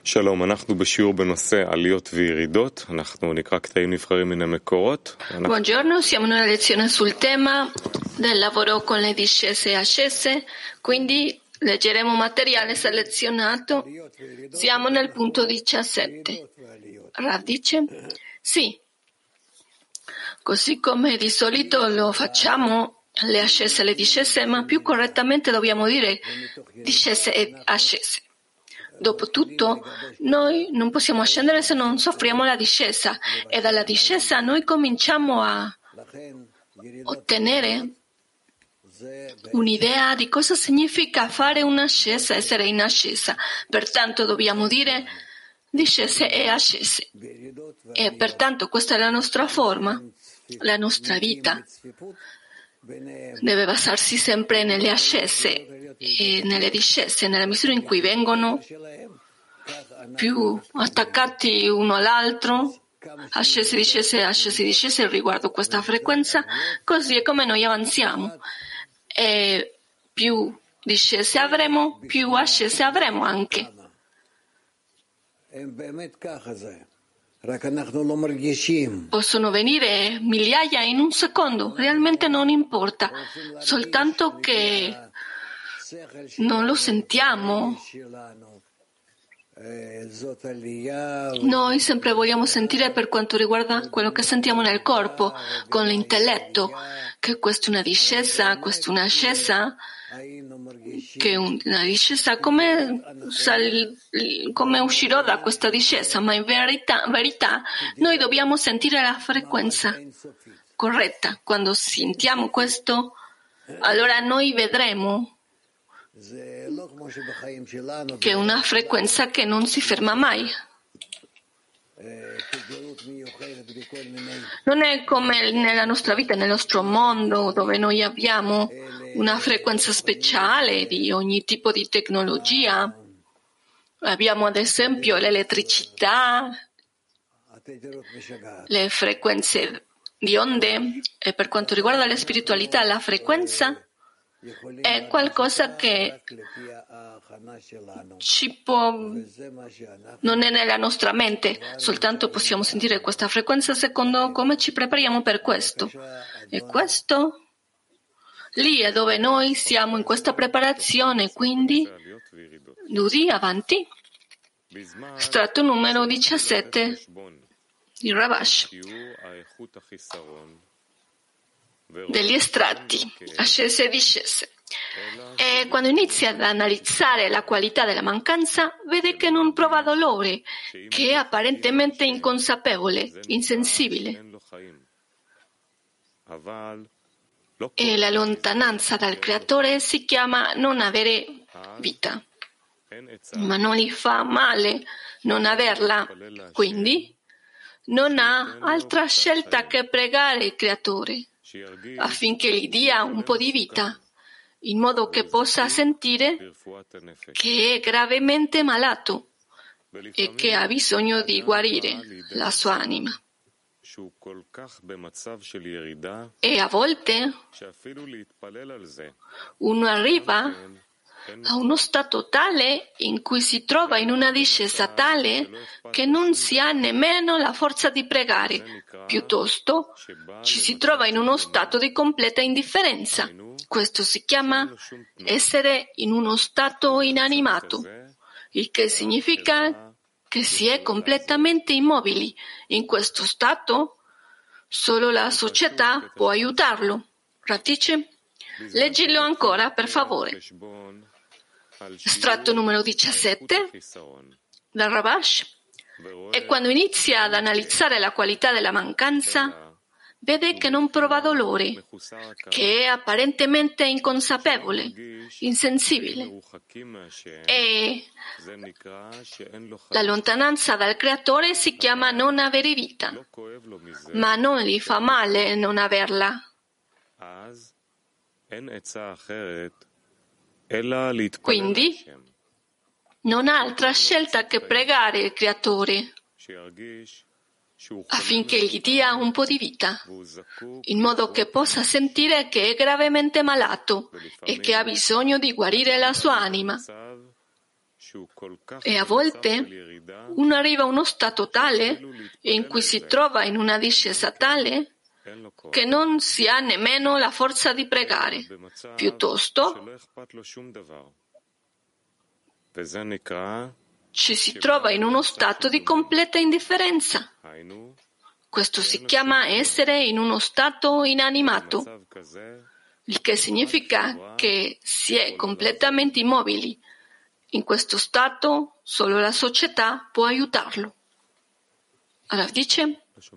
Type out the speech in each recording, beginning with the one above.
שלום, אנחנו בשיעור בנושא עליות וירידות, אנחנו נקרא קטעים נבחרים מן המקורות. Buongiorno, siamo in una lezione sul tema del lavoro con le discese e ascese, quindi leggeremo materiale selezionato. Siamo nel punto 17. Rav dice: sì, così come di solito lo facciamo, le ascese e le discese, ma più correttamente dobbiamo dire discese e ascese. Dopotutto, noi non possiamo scendere se non soffriamo la discesa, e dalla discesa noi cominciamo a ottenere un'idea di cosa significa fare un'ascesa, essere in ascesa. Pertanto dobbiamo dire discese e ascese. E pertanto questa è la nostra forma, la nostra vita. Deve basarsi sempre nelle ascese e nelle discese, nella misura in cui vengono più attaccati uno all'altro, ascese, discese riguardo questa frequenza, così è come noi avanziamo. E più discese avremo, più ascese avremo anche. Possono venire migliaia in un secondo, realmente non importa, soltanto che non lo sentiamo. Noi sempre vogliamo sentire per quanto riguarda quello che sentiamo nel corpo, con l'intelletto, che questa è una discesa, questa è un'ascesa, che una discesa come uscirò da questa discesa, ma in verità noi dobbiamo sentire la frequenza corretta. Quando sentiamo questo, allora noi vedremo che è una frequenza che non si ferma mai. Non è come nella nostra vita, nel nostro mondo, dove noi abbiamo una frequenza speciale di ogni tipo di tecnologia. Abbiamo ad esempio l'elettricità, le frequenze di onde, e per quanto riguarda la spiritualità, la frequenza è qualcosa che non è nella nostra mente, soltanto possiamo sentire questa frequenza secondo come ci prepariamo per questo. E questo lì è dove noi siamo in questa preparazione, quindi Dudi avanti. Strato numero 17 di Ravash. Degli estratti, ascese e discese. E quando inizia ad analizzare la qualità della mancanza, vede che non prova dolore, che è apparentemente inconsapevole, insensibile. E la lontananza dal Creatore si chiama non avere vita. Ma non gli fa male non averla, quindi non ha altra scelta che pregare il Creatore affinché gli dia un po' di vita, in modo che possa sentire che è gravemente malato e che ha bisogno di guarire la sua anima. E a volte uno arriva a uno stato tale in cui si trova in una discesa tale che non si ha nemmeno la forza di pregare, piuttosto ci si trova in uno stato di completa indifferenza. Questo si chiama essere in uno stato inanimato, il che significa che si è completamente immobili. In questo stato solo la società può aiutarlo. Ratice, leggilo ancora, per favore. Estratto numero 17 dal Ravash. E quando inizia ad analizzare la qualità della mancanza, vede che non prova dolore, che è apparentemente inconsapevole, insensibile. E la lontananza dal Creatore si chiama non avere vita, ma non gli fa male non averla. Quindi non ha altra scelta che pregare il Creatore affinché gli dia un po' di vita, in modo che possa sentire che è gravemente malato e che ha bisogno di guarire la sua anima. E a volte uno arriva a uno stato tale in cui si trova in una discesa tale che non si ha nemmeno la forza di pregare. Piuttosto ci si trova in uno stato di completa indifferenza. Questo si chiama essere in uno stato inanimato, il che significa che si è completamente immobili. In questo stato solo la società può aiutarlo. Allora dice,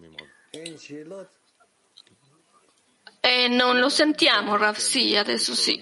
non lo sentiamo, Rav, sì, adesso sì.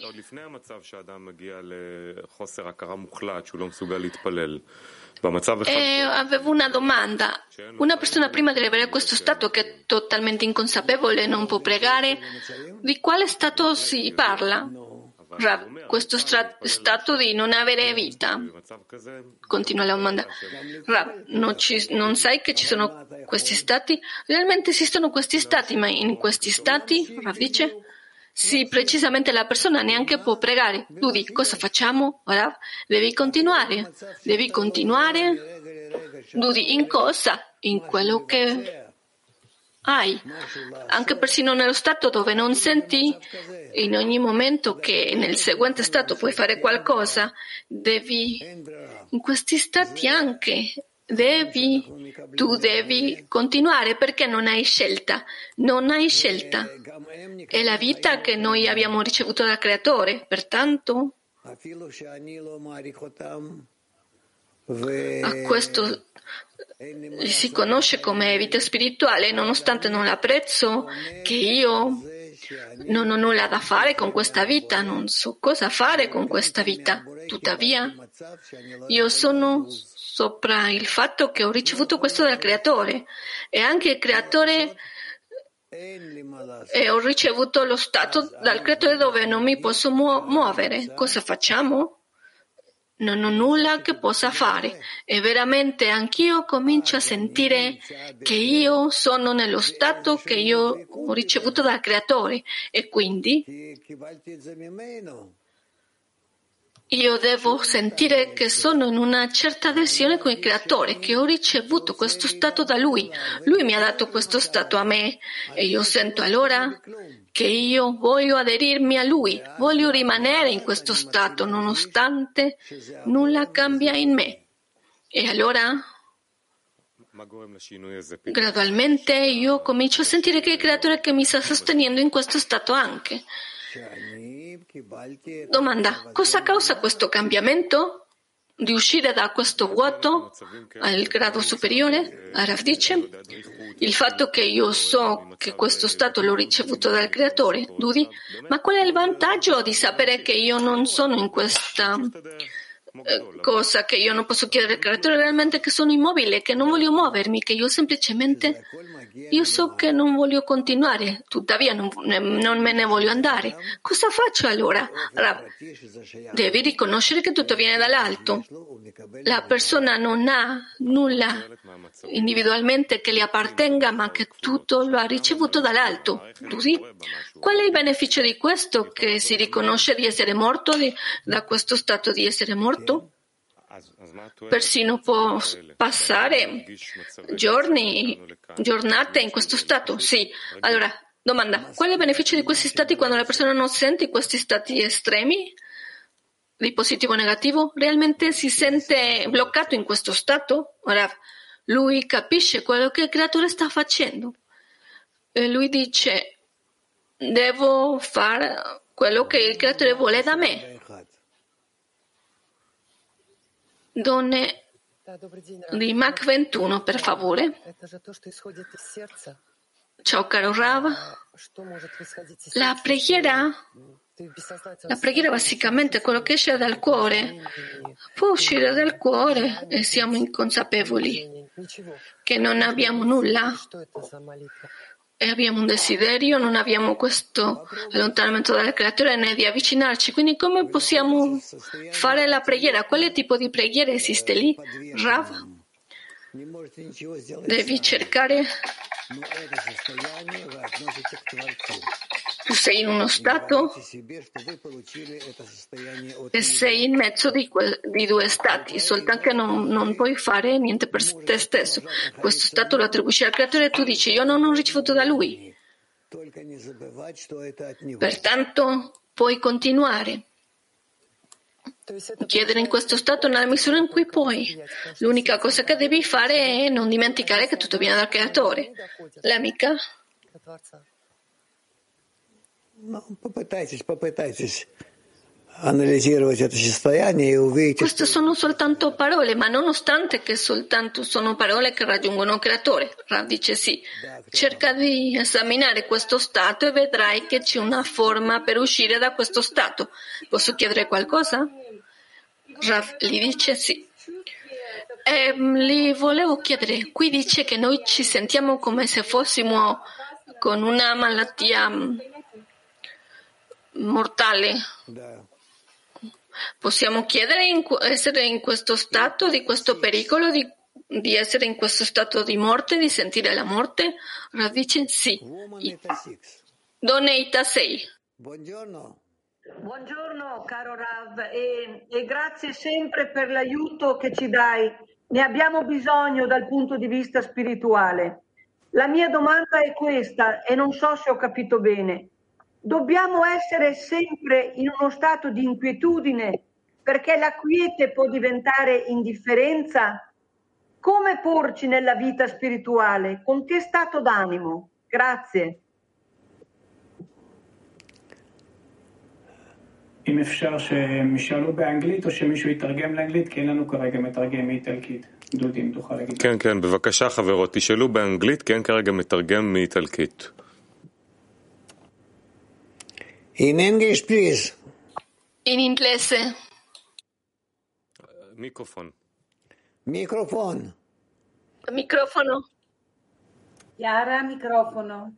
Avevo una domanda. Una persona prima di avere questo stato che è totalmente inconsapevole, non può pregare, di quale stato si parla? Rav, questo stato di non avere vita. Continua la domanda. Rav, non sai che ci sono questi stati? Realmente esistono questi stati, ma in questi stati, Rav dice, sì, precisamente la persona neanche può pregare. Tu dici, cosa facciamo? Rav, devi continuare. Dudi, in cosa? In quello che hai. Anche persino nello stato dove non senti in ogni momento che nel seguente stato puoi fare qualcosa, in questi stati anche tu devi continuare perché non hai scelta. È la vita che noi abbiamo ricevuto dal Creatore, pertanto a questo si conosce come vita spirituale, nonostante non l'apprezzo, che io non ho nulla da fare con questa vita, non so cosa fare con questa vita. Tuttavia, io sono sopra il fatto che ho ricevuto questo dal Creatore e anche il Creatore e ho ricevuto lo stato dal Creatore dove non mi posso muovere. Cosa facciamo? Non ho nulla che possa fare e veramente anch'io comincio a sentire che io sono nello stato che io ho ricevuto dal Creatore e quindi io devo sentire che sono in una certa adesione con il Creatore, che ho ricevuto questo stato da Lui. Lui mi ha dato questo stato a me e io sento allora che io voglio aderirmi a Lui, voglio rimanere in questo stato nonostante nulla cambia in me. E allora, gradualmente, io comincio a sentire che è il Creatore che mi sta sostenendo in questo stato anche. Domanda: cosa causa questo cambiamento? Di uscire da questo vuoto al grado superiore? Rav dice, il fatto che io so che questo stato l'ho ricevuto dal Creatore. Dudi, ma qual è il vantaggio di sapere che io non sono in questa cosa, che io non posso chiedere al Creatore realmente, che sono immobile, che non voglio muovermi, che io semplicemente so che non voglio continuare, tuttavia non me ne voglio andare. Cosa faccio allora? Devi riconoscere che tutto viene dall'alto. La persona non ha nulla individualmente che gli appartenga, ma che tutto lo ha ricevuto dall'alto. Qual è il beneficio di questo? Che si riconosce di essere morto, da questo stato di essere morto? Persino può passare giornate in questo stato. Sì. Allora, domanda, qual è il beneficio di questi stati quando la persona non sente questi stati estremi, di positivo o negativo? Realmente si sente bloccato in questo stato? Ora, lui capisce quello che il Creatore sta facendo. E lui dice, devo fare quello che il Creatore vuole da me. Donne di Mach 21, per favore. Ciao caro Rav. La preghiera basicamente è quello che esce dal cuore. Può uscire dal cuore e siamo inconsapevoli che non abbiamo nulla. E abbiamo un desiderio, non abbiamo questo allontanamento dal Creatore né di avvicinarci. Quindi come possiamo fare la preghiera? Quale tipo di preghiera esiste lì? Rav? Devi cercare Tu sei in uno stato e sei in mezzo di due stati, soltanto che non puoi fare niente per te stesso. Questo stato lo attribuisci al creatore e tu dici io non ho ricevuto da lui. Pertanto puoi continuare. Chiedere in questo stato nella misura in cui puoi. L'unica cosa che devi fare è non dimenticare che tutto viene dal creatore. L'amica? Queste sono soltanto parole, ma nonostante che soltanto sono parole che raggiungono il creatore, Rav dice sì. Cerca di esaminare questo stato e vedrai che c'è una forma per uscire da questo stato. Posso chiedere qualcosa? Rav gli dice sì. Gli volevo chiedere, qui dice che noi ci sentiamo come se fossimo con una malattia mortale. Possiamo chiedere essere in questo stato, di questo pericolo, di essere in questo stato di morte, di sentire la morte? Rav dice sì. Donne Ita 6. Buongiorno caro Rav e grazie sempre per l'aiuto che ci dai. Ne abbiamo bisogno dal punto di vista spirituale. La mia domanda è questa e non so se ho capito bene. Dobbiamo essere sempre in uno stato di inquietudine perché la quiete può diventare indifferenza? Come porci nella vita spirituale? Con che stato d'animo? Grazie. אם אפשר שהם ישאלו באנגלית או שמישהו יתרגם לאנגלית, כי אין לנו כרגע מתרגם מאיטלקית. דודי, אם תוכל להגיד. כן, כן, בבקשה חברות, תשאלו באנגלית, כי אין כרגע מתרגם מאיטלקית. In English, please. In inglese. מיקרופון. Microphone. Microfono. Chiara, microfono.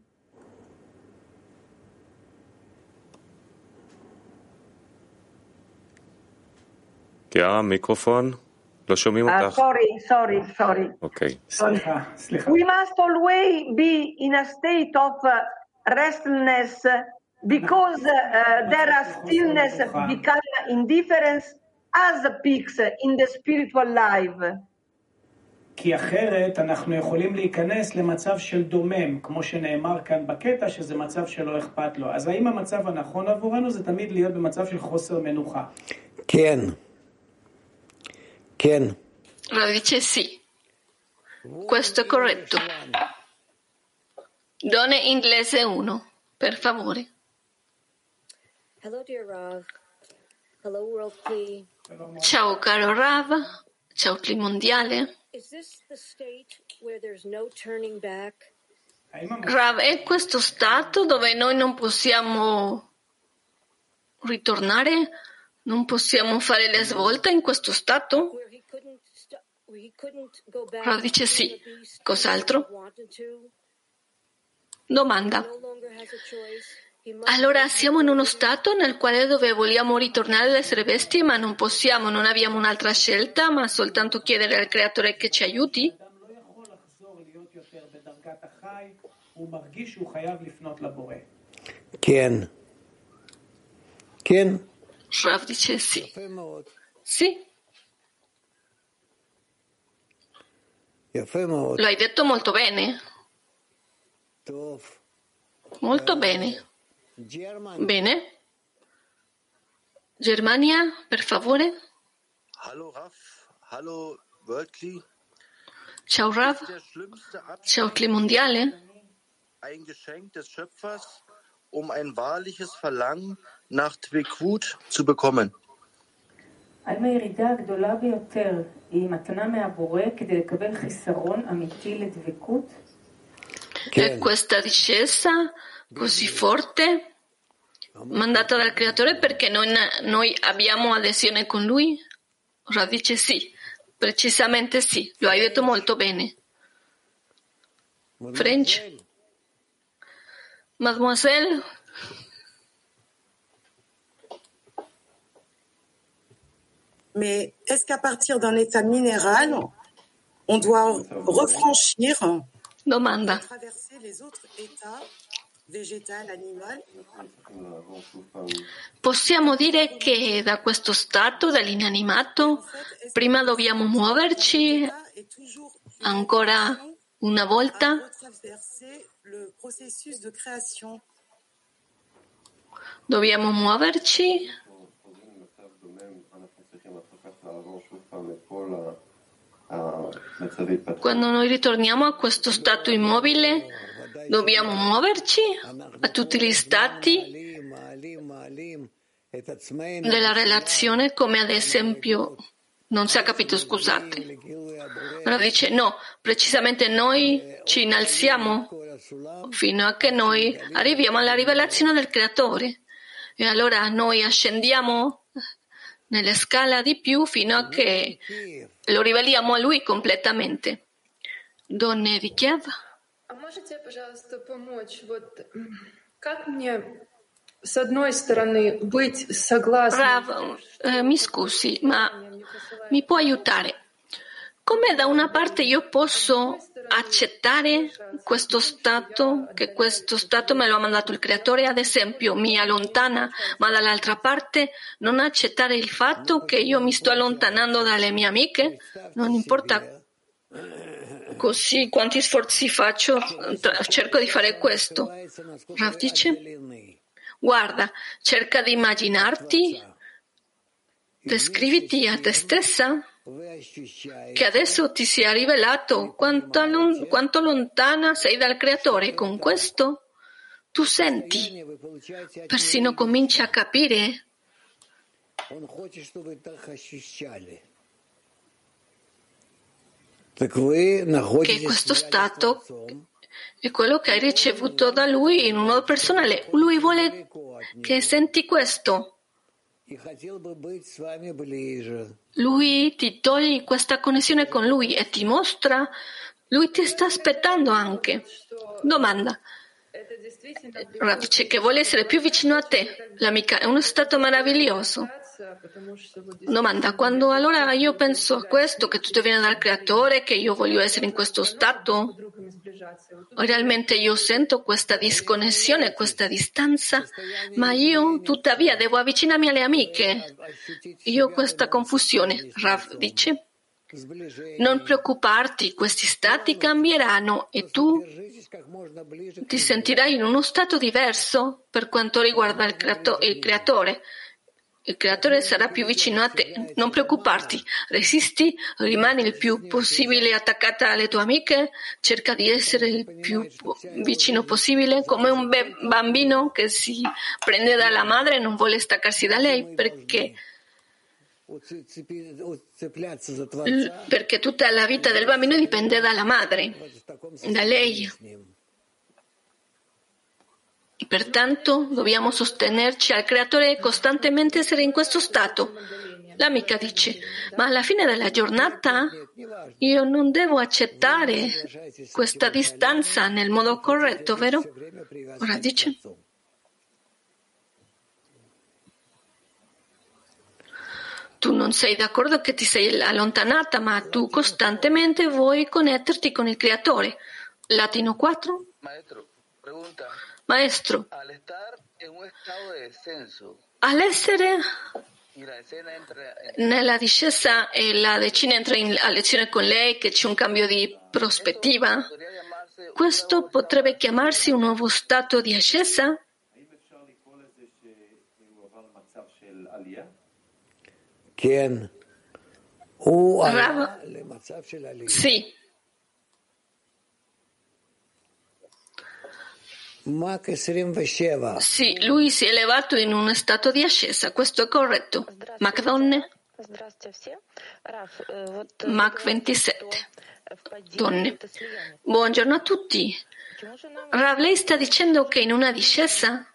קיארה, מיקרופון. לא שומעים אותך. Sorry. אוקיי. סליחה. We must always be in a state of restlessness because there are stillness become indifference as peaks in the spiritual life. כי אחרת אנחנו יכולים להיכנס למצב של דומם, כמו שנאמר כאן בקטע, שזה מצב שלא אכפת לו. אז האם המצב הנכון עבורנו זה תמיד להיות במצב של חוסר מנוחה? כן. Rav dice sì. Questo è corretto. Donne inglese 1, per favore. Hello, dear Rav. Hello, World Kli. Ciao caro Rav. Ciao Kli mondiale. Is this the state where there's no turning back? Rav, è questo stato dove noi non possiamo ritornare? Non possiamo fare le svolte in questo stato? Rav dice sì. Cos'altro? Domanda. Allora siamo in uno stato nel quale dove vogliamo ritornare ad essere bestie, ma non possiamo, non abbiamo un'altra scelta, ma soltanto chiedere al Creatore che ci aiuti? כן. Rav dice sì. Sì. Lo hai detto molto bene. Molto bene. Bene. Germania, per favore. Hallo Rav, hallo World Kli. Ciao Rav. Ciao Kli mondiale. Ein Geschenk des Schöpfers, um ein wahrliches Verlangen nach Dvekut zu bekommen. האם הירידה הגדולה ביותר היא מתנה מהבורא כדי לקבל חיסרון אמיתי לדבקות? E questa discesa così forte mandata dal Creatore perché noi abbiamo adesione con Lui? Rav dice sì, precisamente sì, lo hai detto molto bene. French? Mademoiselle? Mais est-ce qu'à partir d'un état minéral, on doit refranchir Domanda. traverser les autres états végétal, animal. Possiamo dire che da questo stato, dall'inanimato, prima dobbiamo muoverci ancora una volta. Dobbiamo muoverci. Quando noi ritorniamo a questo stato immobile, dobbiamo muoverci a tutti gli stati della relazione, come ad esempio, non si è capito, scusate. Allora dice no, precisamente noi ci innalziamo fino a che noi arriviamo alla rivelazione del Creatore. E allora noi ascendiamo nella scala di più fino a che lo riveliamo a Lui completamente. Donne di Kiev? Можете, пожалуйста, помочь? Вот как мне, с одной стороны, быть согласной? Rav, mi scusi, ma mi può aiutare? Come da una parte io posso accettare questo stato, che questo stato me lo ha mandato il Creatore, ad esempio mi allontana, ma dall'altra parte non accettare il fatto che io mi sto allontanando dalle mie amiche? Non importa così quanti sforzi faccio, cerco di fare questo. Rav dice, guarda, cerca di immaginarti, descriviti a te stessa che adesso ti sia rivelato quanto lontana sei dal Creatore. Con questo tu senti, persino cominci a capire che questo stato è quello che hai ricevuto da Lui in un modo personale. Lui vuole che senti questo. Lui ti toglie questa connessione con Lui e ti mostra, Lui ti sta aspettando anche. Domanda. Rav dice che vuole essere più vicino a te, l'amica, è uno stato meraviglioso. Domanda, quando allora io penso a questo, che tutto viene dal Creatore, che io voglio essere in questo stato, realmente io sento questa disconnessione, questa distanza, ma io tuttavia devo avvicinarmi alle amiche. Io ho questa confusione. Rav dice, non preoccuparti, questi stati cambieranno e tu ti sentirai in uno stato diverso per quanto riguarda il Creatore. Il Creatore sarà più vicino a te. Non preoccuparti, resisti, rimani il più possibile attaccata alle tue amiche, cerca di essere il più vicino possibile, come un bambino che si prende dalla madre e non vuole staccarsi da lei perché tutta la vita del bambino dipende dalla madre, da lei. Pertanto dobbiamo sostenerci al Creatore e costantemente essere in questo stato. L'amica dice, ma alla fine della giornata io non devo accettare questa distanza nel modo corretto, vero? Ora dice, tu non sei d'accordo che ti sei allontanata, ma tu costantemente vuoi connetterti con il Creatore. Latino 4? Maestro, all'essere nella discesa e la decina entra a lezione con lei, che c'è un cambio di prospettiva, questo potrebbe chiamarsi un nuovo stato di ascesa? Sì. Sì, lui si è elevato in uno stato di ascesa, questo è corretto. Mac donne? Mac 27. Donne. Buongiorno a tutti. Rav, lei sta dicendo che in una discesa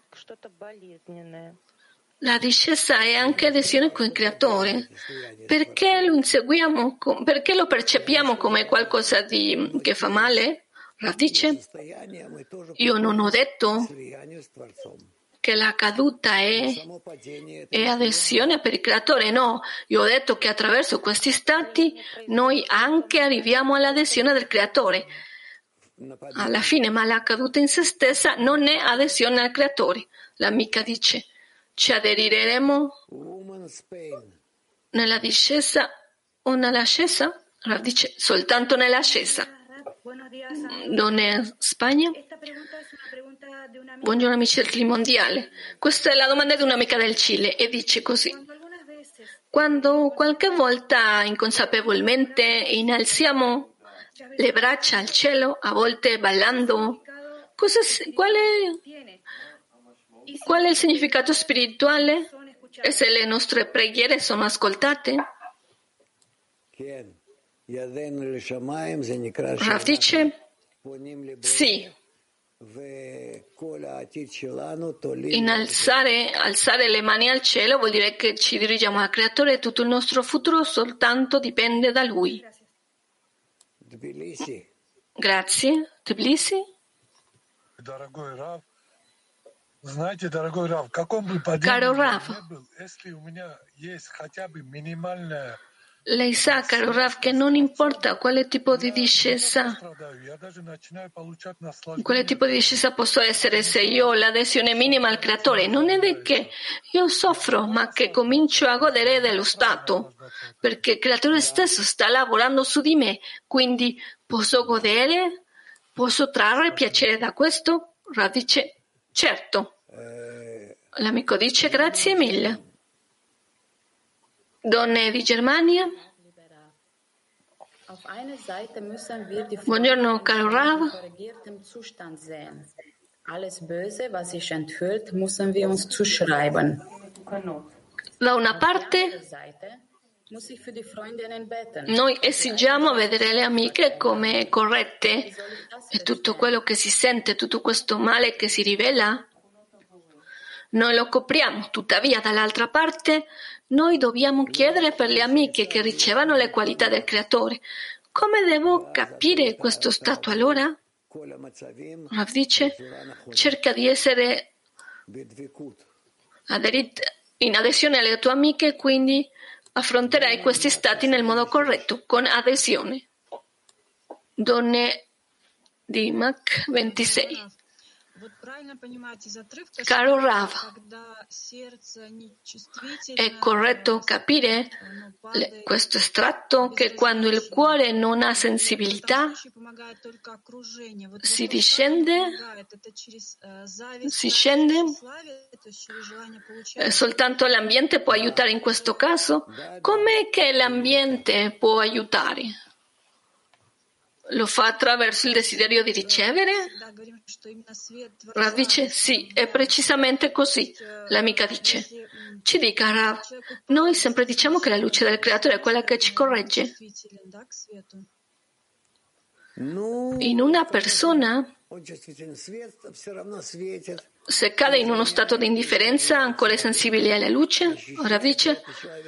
la discesa è anche adesione con il Creatore. Perché lo inseguiamo? Perché lo percepiamo come qualcosa che fa male? Rav dice, io non ho detto che la caduta è adesione per il Creatore, no, io ho detto che attraverso questi stati noi anche arriviamo all'adesione del Creatore. alla fine, ma la caduta in se stessa non è adesione al creatore. L'amica dice: ci aderiremo nella discesa o nell'ascesa? Rav dice: soltanto nell'ascesa. Donne Spagna. Buongiorno amici del Clima Mondiale. Questa è la domanda di un'amica del Cile e dice così: quando qualche volta inconsapevolmente innalziamo le braccia al cielo, a volte ballando, qual è il significato spirituale? E se le nostre preghiere sono ascoltate? Rav dice sì. Alzare le mani al cielo vuol dire che ci dirigiamo al Creatore e tutto il nostro futuro soltanto dipende da Lui. Grazie. Tbilisi? Caro Rav, lei sa, caro Rav, che non importa quale tipo di discesa posso essere, se io ho l'adesione minima al Creatore, non è che io soffro, ma che comincio a godere dello stato, perché il Creatore stesso sta lavorando su di me, quindi posso godere, posso trarre piacere da questo? Rav dice, certo. L'amico dice, grazie mille. Donne di Germania. Buongiorno caro Rav. Da una parte noi esigiamo vedere le amiche come corrette e tutto quello che si sente, tutto questo male che si rivela, noi lo copriamo. Tuttavia, dall'altra parte, noi dobbiamo chiedere per le amiche che ricevano le qualità del Creatore. Come devo capire questo stato allora? Rav dice, cerca di essere in adesione alle tue amiche, quindi affronterai questi stati nel modo corretto, con adesione. Donne di Mac 26. Caro Rav, è corretto capire questo estratto che quando il cuore non ha sensibilità si scende? Soltanto l'ambiente può aiutare in questo caso? Com'è che l'ambiente può aiutare? Lo fa attraverso il desiderio di ricevere? Rav dice sì, è precisamente così. L'amica dice, ci dica Rav, noi sempre diciamo che la luce del Creatore è quella che ci corregge. In una persona, se cade in uno stato di indifferenza, ancora è sensibile alla luce? Rav dice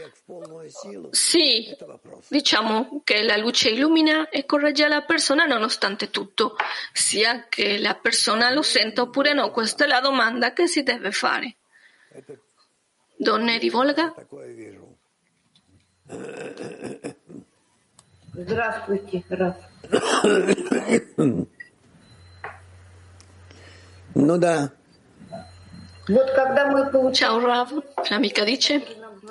sì, diciamo che la luce illumina e corregge la persona nonostante tutto, sia che la persona lo senta oppure no. Questa è la domanda che si deve fare. Donne di Volga? Здравствуйте, Раф. Ну да. Вот когда мы получаем... Ciao Rav, l'amica dice.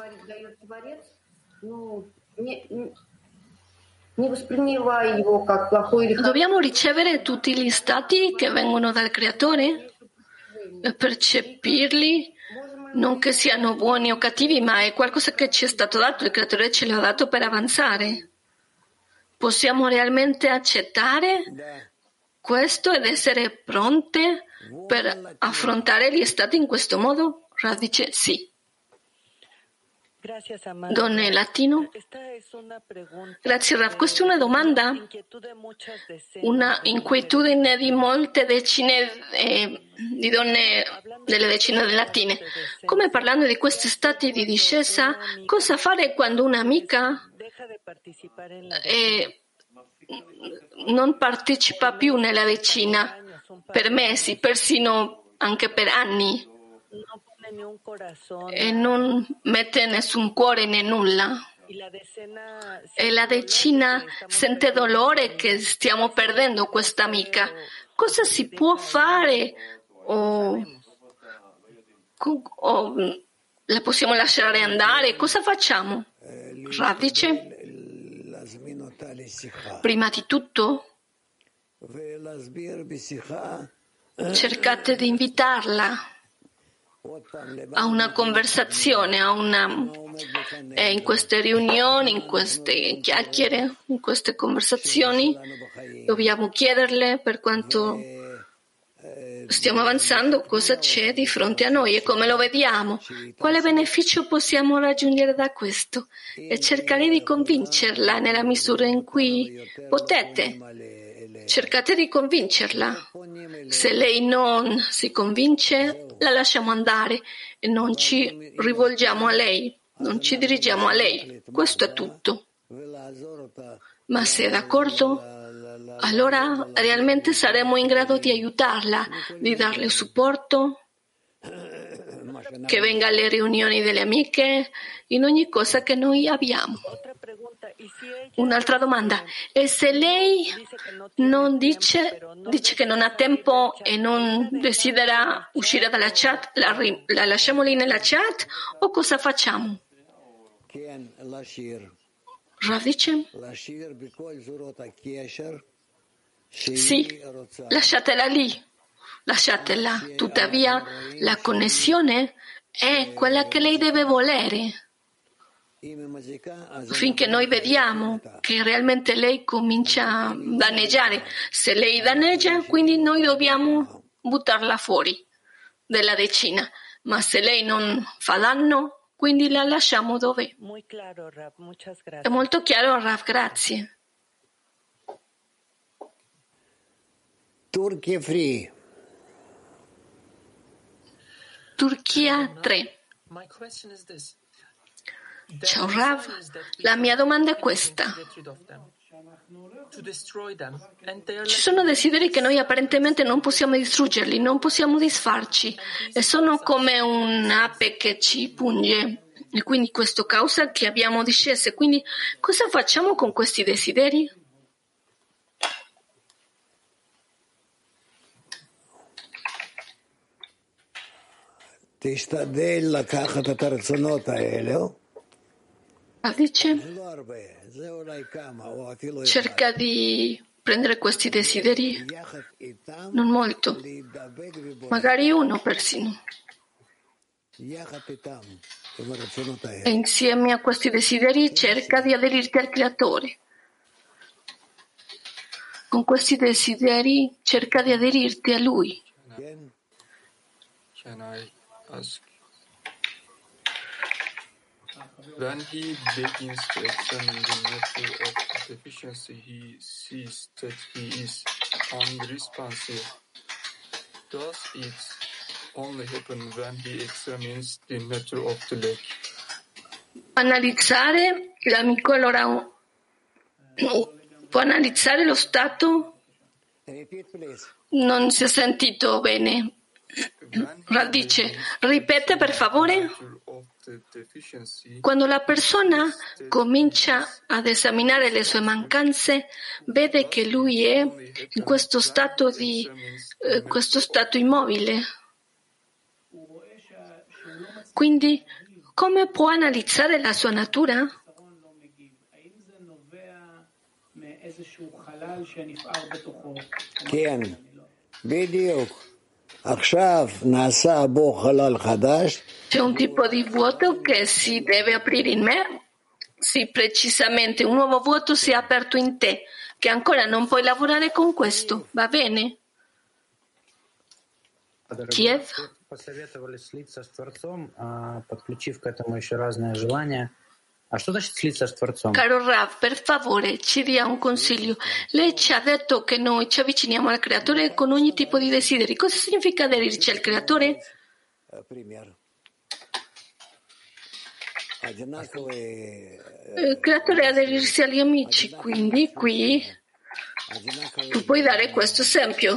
Dobbiamo ricevere tutti gli stati che vengono dal Creatore e percepirli, non che siano buoni o cattivi, ma è qualcosa che ci è stato dato, il Creatore ce l'ha dato per avanzare. Possiamo realmente accettare questo ed essere pronte per affrontare gli stati in questo modo? Rav dice sì. Donne latino? Grazie Rav. Questa è una domanda, una inquietudine di molte decine di donne delle decine di latine. Come parlando di questi stati di discesa, cosa fare quando un'amica non partecipa più nella decina per mesi, persino anche per anni, e non mette nessun cuore né nulla? e la decina sente dolore che stiamo perdendo questa amica. Cosa si può fare? O la possiamo lasciare andare? Cosa facciamo? Rav dice, prima di tutto, cercate di invitarla a una conversazione, in queste riunioni, in queste chiacchiere, in queste conversazioni, dobbiamo chiederle per quanto stiamo avanzando, cosa c'è di fronte a noi e come lo vediamo, quale beneficio possiamo raggiungere da questo e cercare di convincerla nella misura in cui potete. Cercate di convincerla. Se lei non si convince, la lasciamo andare e non ci rivolgiamo a lei, non ci dirigiamo a lei. Questo è tutto. Ma se è d'accordo, allora realmente saremo in grado di aiutarla, di darle supporto, che venga alle riunioni delle amiche, in ogni cosa che noi abbiamo. Un'altra domanda. E se lei non dice che non ha tempo e non desidera uscire dalla chat, la lasciamo lì nella chat o cosa facciamo? Rav dice? Sì, lasciatela lì, lasciatela. Tuttavia, la connessione è quella che lei deve volere. Finché noi vediamo che realmente lei comincia a danneggiare. Se lei danneggia, quindi noi dobbiamo buttarla fuori della decina. Ma se lei non fa danno, quindi la lasciamo dove? È molto chiaro, Rav, grazie. Turchia 3. Ciao Rav, la mia domanda è questa. Ci sono desideri che noi apparentemente non possiamo distruggerli, non possiamo disfarci e sono come un'ape che ci punge e quindi questo causa che abbiamo discese. Quindi cosa facciamo con questi desideri? Dice, cerca di prendere questi desideri, non molto, magari uno persino, e insieme a questi desideri cerca di aderirti al Creatore. Con questi desideri cerca di aderirti a Lui. When he begins to examine the nature of deficiency, he sees that he is unresponsive. Does it only happen when he examines the nature of the lack? Analizzare, l'amico allora può analizzare lo stato? Non si è sentito bene. Dice, ripete per favore. Quando la persona comincia ad esaminare le sue mancanze, vede che lui è in questo stato immobile. Quindi, come può analizzare la sua natura? C'è un tipo di vuoto che si deve aprire in me? Sì, precisamente, un nuovo vuoto si è aperto in te, che ancora non puoi lavorare con questo, va bene? Kiev? Caro Rav, per favore, ci dia un consiglio. Lei ci ha detto che noi ci avviciniamo al Creatore con ogni tipo di desideri. Cosa significa aderirci al Creatore? Il Creatore è aderirsi agli amici, quindi qui tu puoi dare questo esempio.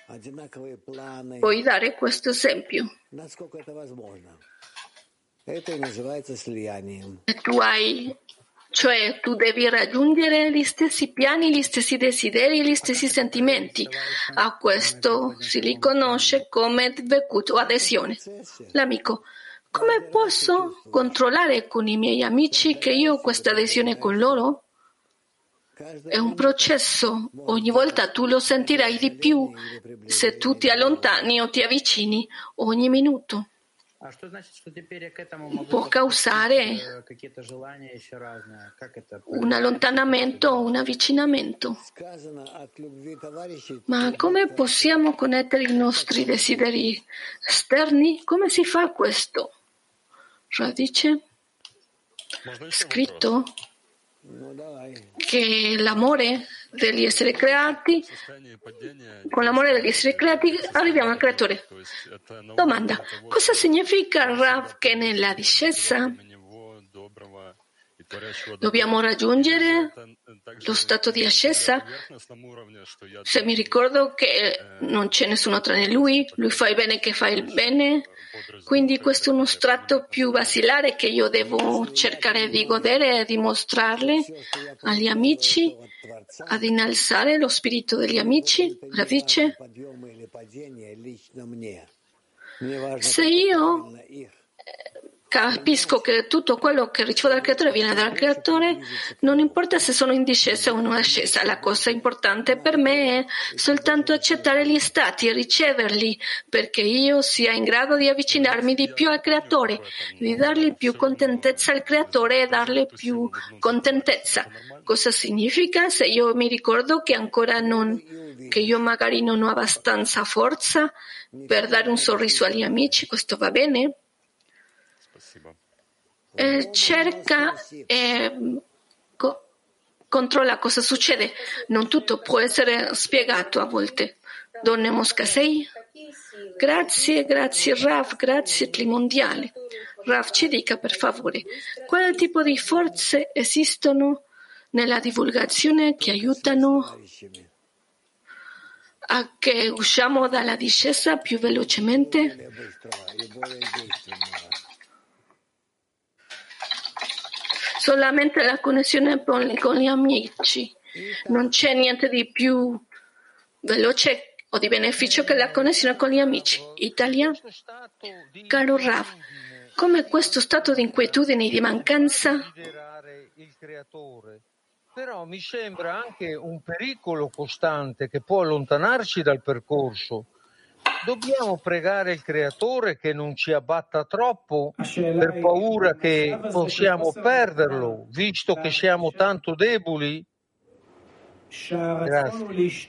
Puoi dare questo esempio. E tu hai Cioè tu devi raggiungere gli stessi piani, gli stessi desideri, gli stessi sentimenti. A questo si riconosce come dvekut o adesione. L'amico: come posso controllare con i miei amici che io ho questa adesione con loro? È un processo, ogni volta tu lo sentirai di più se tu ti allontani o ti avvicini ogni minuto. Può causare un allontanamento o un avvicinamento. Ma come possiamo connettere i nostri desideri esterni? Come si fa questo? Radice? Scritto che l'amore degli esseri creati, con l'amore degli esseri creati arriviamo al creatore. Domanda: cosa significa Rav che nella discesa dobbiamo raggiungere lo stato di ascesa? Se mi ricordo che non c'è nessuno tranne lui fa il bene che fa il bene, quindi questo è uno strato più basilare che io devo cercare di godere e dimostrarle agli amici, ad innalzare lo spirito degli amici. Radice? Se io capisco che tutto quello che ricevo dal creatore viene dal creatore, non importa se sono in discesa o in ascesa, la cosa importante per me è soltanto accettare gli stati e riceverli, perché io sia in grado di avvicinarmi di più al creatore, di dargli più contentezza al creatore e dargli più contentezza. Cosa significa? Se io mi ricordo che ancora che io magari non ho abbastanza forza per dare un sorriso agli amici, questo va bene? Cerca e controlla cosa succede. Non tutto può essere spiegato a volte. Donne Moscasei? Grazie Rav, grazie Trimondiale. Rav, ci dica per favore, quale tipo di forze esistono nella divulgazione che aiutano a che usciamo dalla discesa più velocemente? Solamente la connessione con gli amici. Non c'è niente di più veloce o di beneficio che la connessione con gli amici. Italia? Caro Rav, come questo stato di inquietudine e di mancanza? Il creatore. Però mi sembra anche un pericolo costante che può allontanarci dal percorso. Dobbiamo pregare il creatore che non ci abbatta troppo per paura che possiamo perderlo, visto che siamo tanto deboli? Grazie.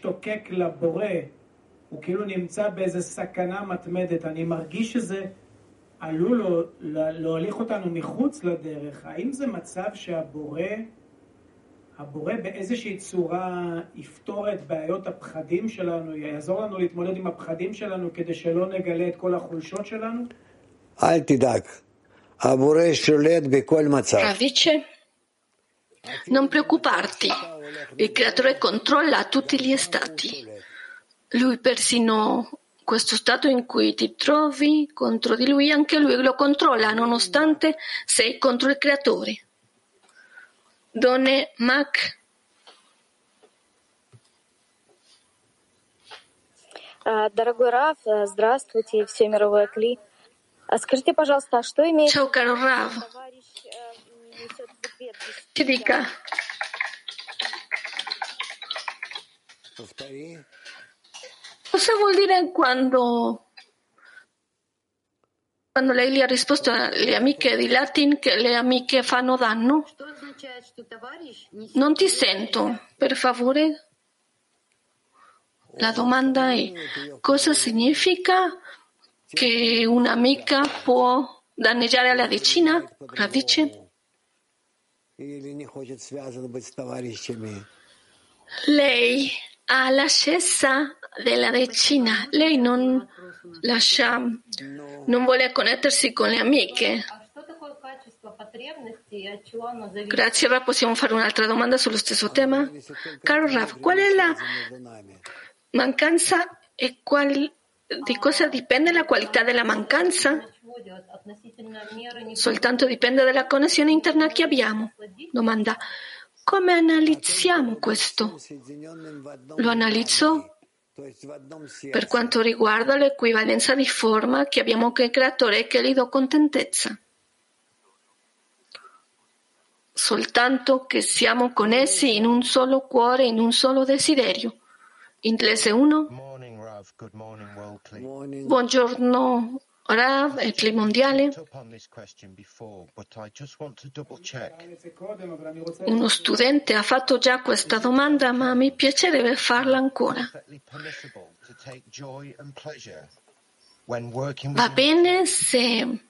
הבורא באיזושהי צורה יפתור את בעיות הפחדים שלנו, יעזור לנו להתמודד עם הפחדים שלנו כדי שלא נגלה את כל החולשות שלנו? אל תדאג, הבורא שולט בכל מצב. Radice? Non preoccuparti, il creatore controlla tutti gli stati. Lui persino questo stato in cui ti trovi contro di lui, anche lui lo controlla, nonostante sei contro il creatore. Donne Mac. Дорогой Рав, здравствуйте, все мировое Кли. Скажите, пожалуйста, что имеет... Ciao caro Rav. Ci dica. Cosa vuol dire quando lei gli ha risposto alle amiche di Latin che le amiche fanno danno? Non ti sento, per favore. La domanda è: cosa significa che un'amica può danneggiare la decina? Radice? Lei ha l'ascesa della decina, lei non vuole connettersi con le amiche. Grazie Rav, possiamo fare un'altra domanda sullo stesso tema? Caro Rav, qual è la mancanza e qual di cosa dipende la qualità della mancanza? Soltanto dipende dalla connessione interna che abbiamo. Domanda: come analizziamo questo? Lo analizzo per quanto riguarda l'equivalenza di forma che abbiamo con il Creatore e che gli do contentezza. Soltanto che siamo connessi in un solo cuore, in un solo desiderio. Inglese 1. Buongiorno Rav e Cli Mondiale. Uno studente ha fatto già questa domanda, ma mi piacerebbe farla ancora. Va bene se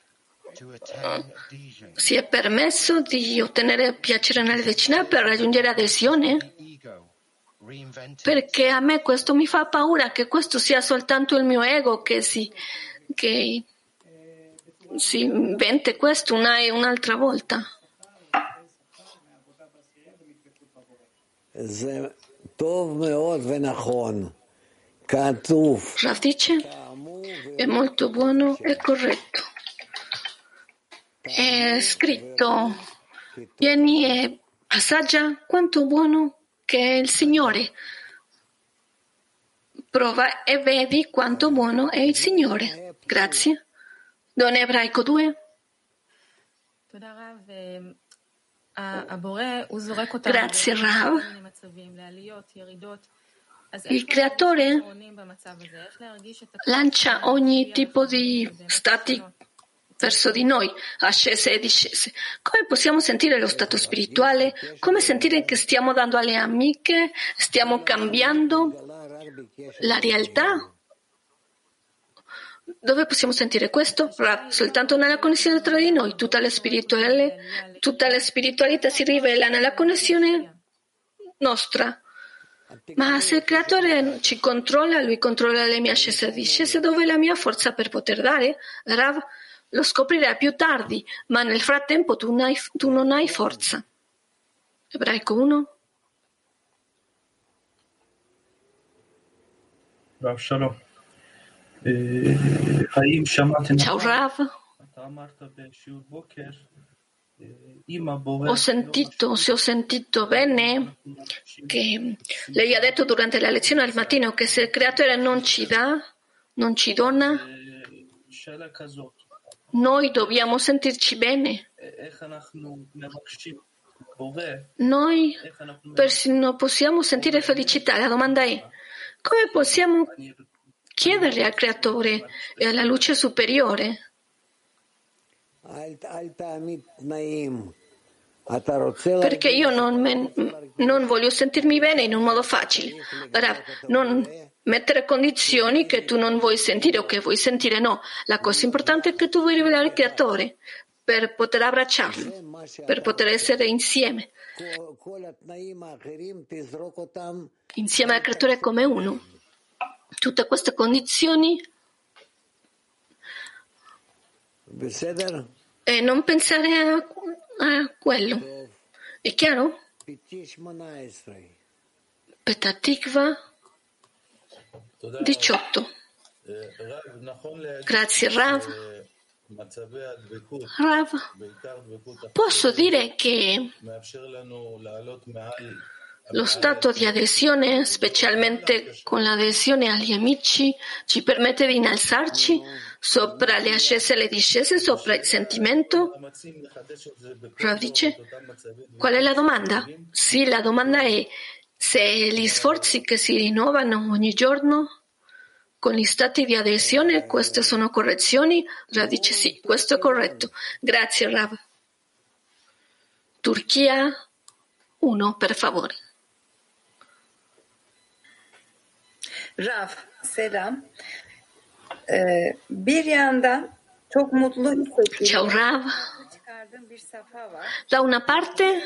si è permesso di ottenere piacere nelle decine per raggiungere adesione? Perché a me questo mi fa paura, che questo sia soltanto il mio ego che si invente questo un'altra volta. Rav dice, è molto buono e corretto. È scritto, vieni e assaggia quanto buono che è il Signore. Prova e vedi quanto buono è il Signore. Grazie. Don Ebraico 2. Grazie Rav. Il Creatore lancia ogni tipo di stati verso di noi, ascese e discese. Come possiamo sentire lo stato spirituale? Come sentire che stiamo dando alle amiche? Stiamo cambiando la realtà? Dove possiamo sentire questo? Soltanto nella connessione tra di noi. Tutta la spiritualità si rivela nella connessione nostra. Ma se il Creatore ci controlla, Lui controlla le mie ascese e discese, dove è la mia forza per poter dare? Rav, lo scoprirai più tardi, ma nel frattempo tu non hai forza. Ebraico 1. Rav Shalom. Ciao Rav. Se ho sentito bene, che lei ha detto durante la lezione al mattino che se il Creatore non ci dona, noi dobbiamo sentirci bene. Noi persino possiamo sentire felicità. La domanda è: come possiamo chiederle al Creatore e alla luce superiore? Perché io non voglio sentirmi bene in un modo facile. Non mettere condizioni che tu non vuoi sentire o che vuoi sentire, no. La cosa importante è che tu vuoi rivelare il Creatore per poter abbracciarlo, per poter essere insieme al Creatore come uno. Tutte queste condizioni e non pensare a quello. È chiaro? Petatikva 18. Grazie Rav. Rav, posso dire che lo stato di adesione, specialmente con l'adesione agli amici, ci permette di innalzarci sopra le ascese e le discese, sopra il sentimento? Rav dice, qual è la domanda? Sì, la domanda è se gli sforzi che si rinnovano ogni giorno con gli stati di adesione, queste sono correzioni? Rav dice sì, questo è corretto. Grazie Rav. Turchia 1, per favore. Rav, selam. Bir yandan çok mutlu hissediyorum. Ciao Rav. Da una parte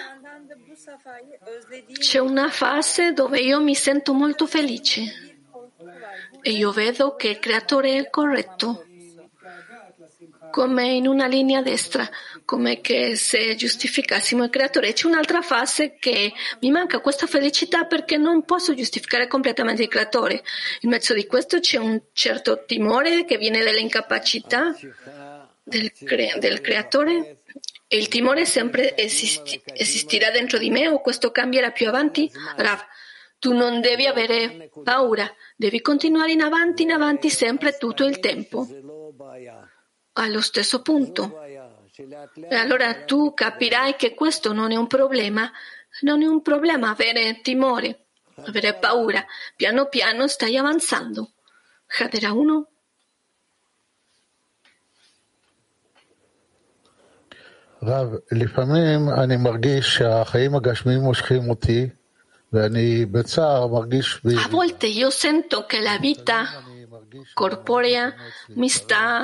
c'è una fase dove io mi sento molto felice e io vedo che il Creatore è corretto, come in una linea destra, come che se giustificassimo il creatore. C'è un'altra fase che mi manca questa felicità perché non posso giustificare completamente il creatore. In mezzo di questo c'è un certo timore che viene dall'incapacità del creatore. E il timore sempre esistirà dentro di me o questo cambierà più avanti? Rav, tu non devi avere paura, devi continuare in avanti sempre tutto il tempo, allo stesso punto. E allora tu capirai che questo non è un problema avere timore, avere paura. Piano piano stai avanzando. Hadera 1. רב, לפעמים אני מרגיש שהחיים הגשמיים מושכים אותי ואני בצער מרגיש... A volte io sento che la vita corporea mi sta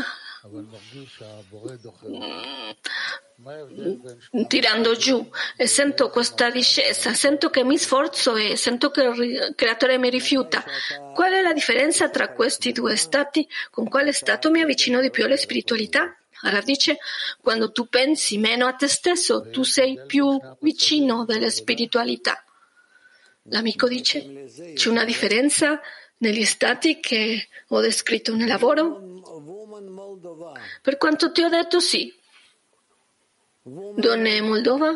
tirando giù e sento questa discesa, sento che mi sforzo e sento che il creatore mi rifiuta. Qual è la differenza tra questi due stati? Con quale stato mi avvicino di più alla spiritualità? Allora dice, quando tu pensi meno a te stesso, tu sei più vicino della spiritualità. L'amico dice, c'è una differenza negli stati che ho descritto nel lavoro? Per quanto ti ho detto, sì. Donne Moldova.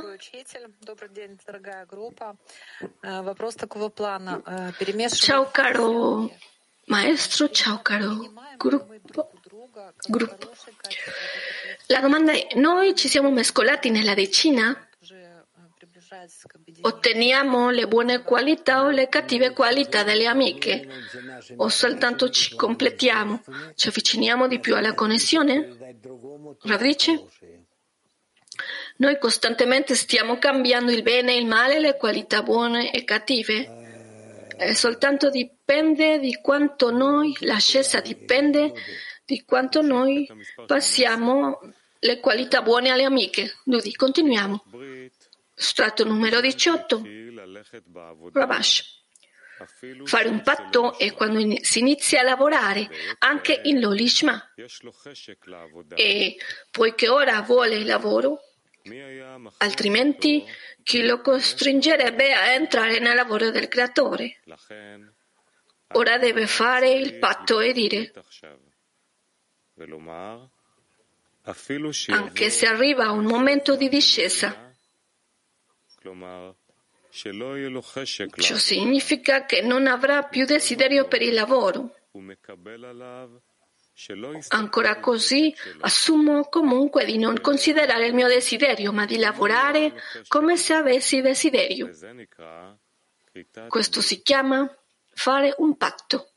Ciao caro maestro, ciao caro gruppo. La domanda è, noi ci siamo mescolati nella decina? Otteniamo le buone qualità o le cattive qualità delle amiche? O soltanto ci completiamo? Ci avviciniamo di più alla connessione? Rav dice? Noi costantemente stiamo cambiando il bene e il male, le qualità buone e cattive. E soltanto dipende di quanto noi, l'ascesa dipende di quanto noi passiamo le qualità buone alle amiche. Dudi, continuiamo. Strato numero 18. Rabash. Fare un patto è quando si inizia a lavorare, anche in Lolishma. E poiché ora vuole il lavoro, altrimenti chi lo costringerebbe a entrare nel lavoro del creatore? Ora deve fare il patto e dire, anche se arriva un momento di discesa, ciò significa che non avrà più desiderio per il lavoro. Ancora così, assumo comunque di non considerare il mio desiderio, ma di lavorare come se avessi desiderio. Questo si chiama fare un patto.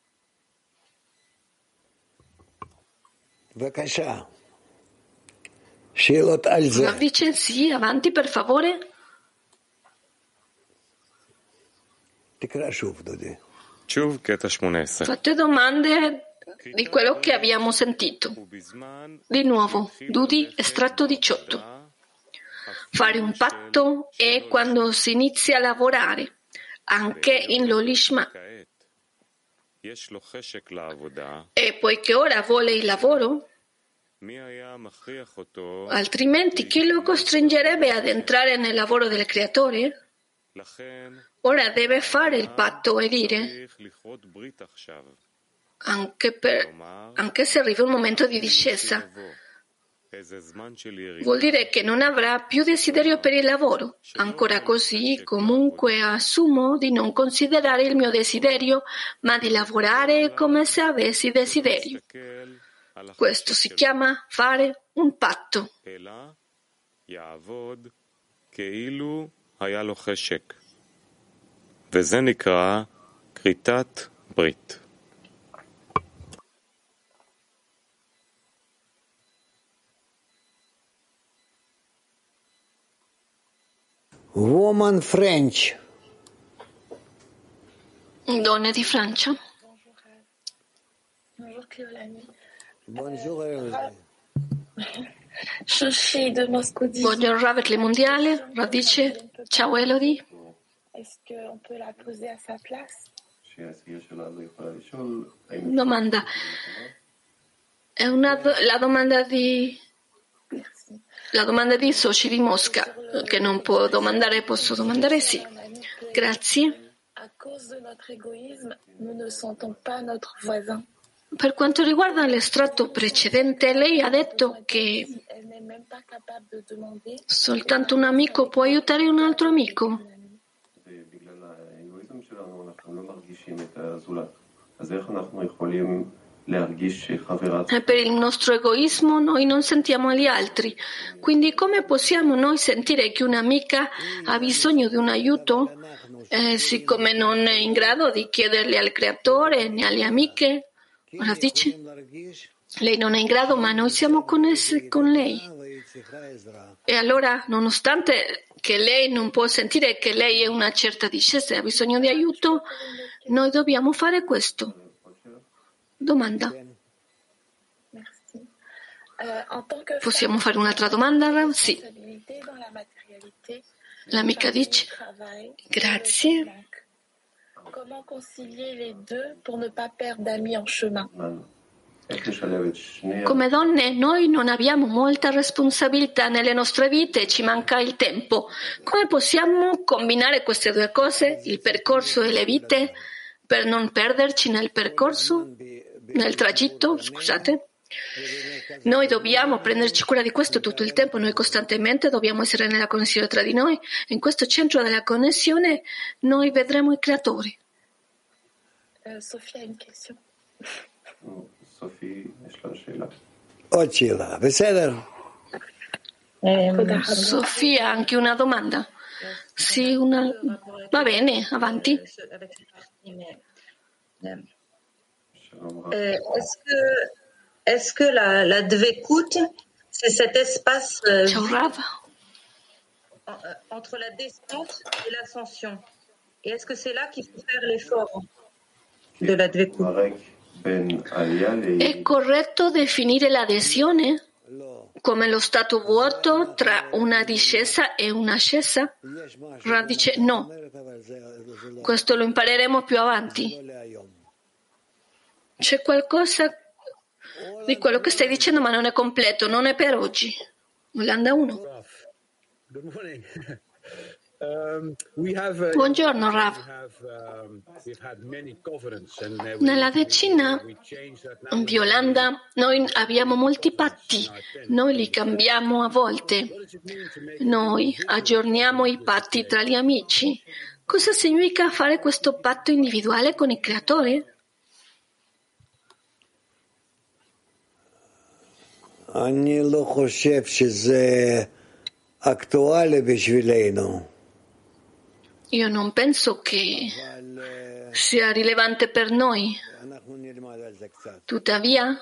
Rav dice sì, avanti per favore. Fate domande di quello che abbiamo sentito. Di nuovo, Dudi, estratto 18. Fare un patto è quando si inizia a lavorare, anche in Lolishma. E poiché ora vuole il lavoro, altrimenti chi lo costringerebbe ad entrare nel lavoro del creatore? Ora deve fare il patto e dire, anche se arriva un momento di discesa, vuol dire che non avrà più desiderio per il lavoro. Ancora così, comunque assumo di non considerare il mio desiderio, ma di lavorare come se avessi desiderio. Questo si chiama fare un patto. וזה נקרא כריתת ברית. Woman French. Donne di Francia. Buongiorno Rav mondiale. Rav dice ciao Elodie. Est-ce qu'on peut la poser à sa place? Domanda. È la domanda di La domanda di Soci di Mosca, che non può domandare, posso domandare? Sì. Grazie. À cause de notre égoïsme, nous ne sentons pas notre voisin. Per quanto riguarda l'estratto precedente, lei ha detto che Elle n'est même pas capable de demander. soltanto un amico può aiutare un altro amico. E per il nostro egoismo noi non sentiamo gli altri. Quindi come possiamo noi sentire che un'amica ha bisogno di un aiuto, siccome non è in grado di chiederli al creatore né alle amiche? Ora dice, lei non è in grado, ma noi siamo connessi con lei. E allora, nonostante che lei non può sentire che lei è una certa discesa e ha bisogno di aiuto, noi dobbiamo fare questo. Domanda. Possiamo fare un'altra domanda? Sì. L'amica dice, grazie. Comment concilier les deux pour ne pas perdre d'amis en chemin? Come donne noi non abbiamo molta responsabilità nelle nostre vite, ci manca il tempo. Come possiamo combinare queste due cose, il percorso e le vite, per non perderci nel percorso, nel tragitto, scusate? Noi dobbiamo prenderci cura di questo tutto il tempo, noi costantemente dobbiamo essere nella connessione tra di noi. In questo centro della connessione noi vedremo i creatori. Sophie a une question. Sofia, anche una domanda? Sì, va bene, avanti. Est-ce que la Dvekut, c'est cet espace entre la descente et l'ascension? Et est-ce que c'est là qu'il faut faire l'effort de la Dvekut? È corretto definire l'adesione come lo stato vuoto tra una discesa e un'ascesa? Rav dice no. Questo lo impareremo più avanti. C'è qualcosa di quello che stai dicendo, ma non è completo, non è per oggi. Olanda 1. Buongiorno Rav. Nella decina di Olanda noi abbiamo molti patti, noi li cambiamo a volte, noi aggiorniamo i patti tra gli amici. Cosa significa fare questo patto individuale con il creatore? אני לא חושב שזה אקטואלי בשבילנו. Io non penso che sia rilevante per noi. Tuttavia,